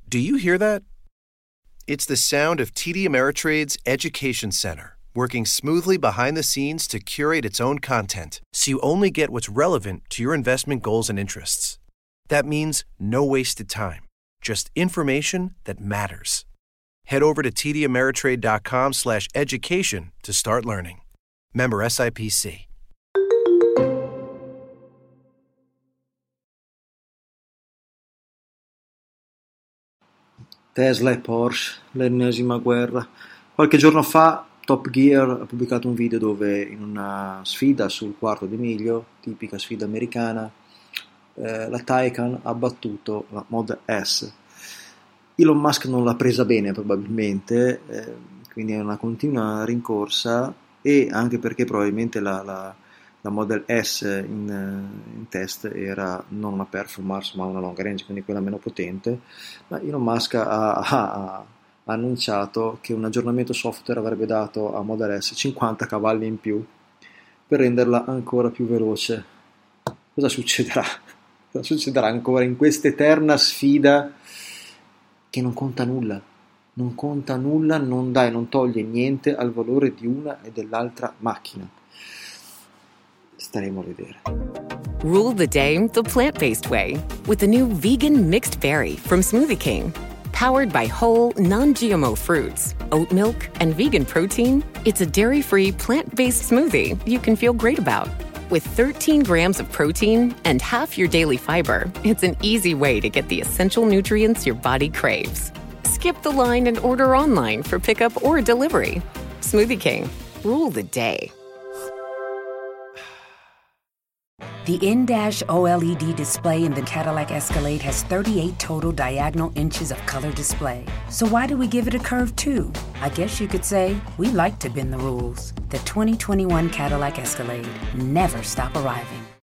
Do you hear that? It's the sound of TD Ameritrade's Education Center, working smoothly behind the scenes to curate its own content, so you only get what's relevant to your investment goals and interests. That means no wasted time, just information that matters. Head over to tdameritrade.com/education to start learning. Member SIPC. Tesla e Porsche, l'ennesima guerra. Qualche giorno fa Top Gear ha pubblicato un video dove in una sfida sul quarto di miglio, tipica sfida americana, la Taycan ha battuto la Model S. Elon Musk non l'ha presa bene probabilmente, quindi è una continua rincorsa, e anche perché probabilmente la Model S in test era non una performance ma una long range, quindi quella meno potente. Ma Elon Musk ha annunciato che un aggiornamento software avrebbe dato a Model S 50 cavalli in più per renderla ancora più veloce. Cosa succederà? Cosa succederà ancora in questa eterna sfida che non conta nulla? Non conta nulla, non toglie niente al valore di una e dell'altra macchina. Staremo a vedere. Rule the day the plant-based way with the new vegan mixed berry from Smoothie King. Powered by whole, non-GMO fruits, oat milk, and vegan protein, it's a dairy-free, plant-based smoothie you can feel great about. With 13 grams of protein and half your daily fiber, it's an easy way to get the essential nutrients your body craves. Skip the line and order online for pickup or delivery. Smoothie King. Rule the day. The in-dash OLED display in the Cadillac Escalade has 38 total diagonal inches of color display. So why do we give it a curve too? I guess you could say we like to bend the rules. The 2021 Cadillac Escalade. Never stop arriving.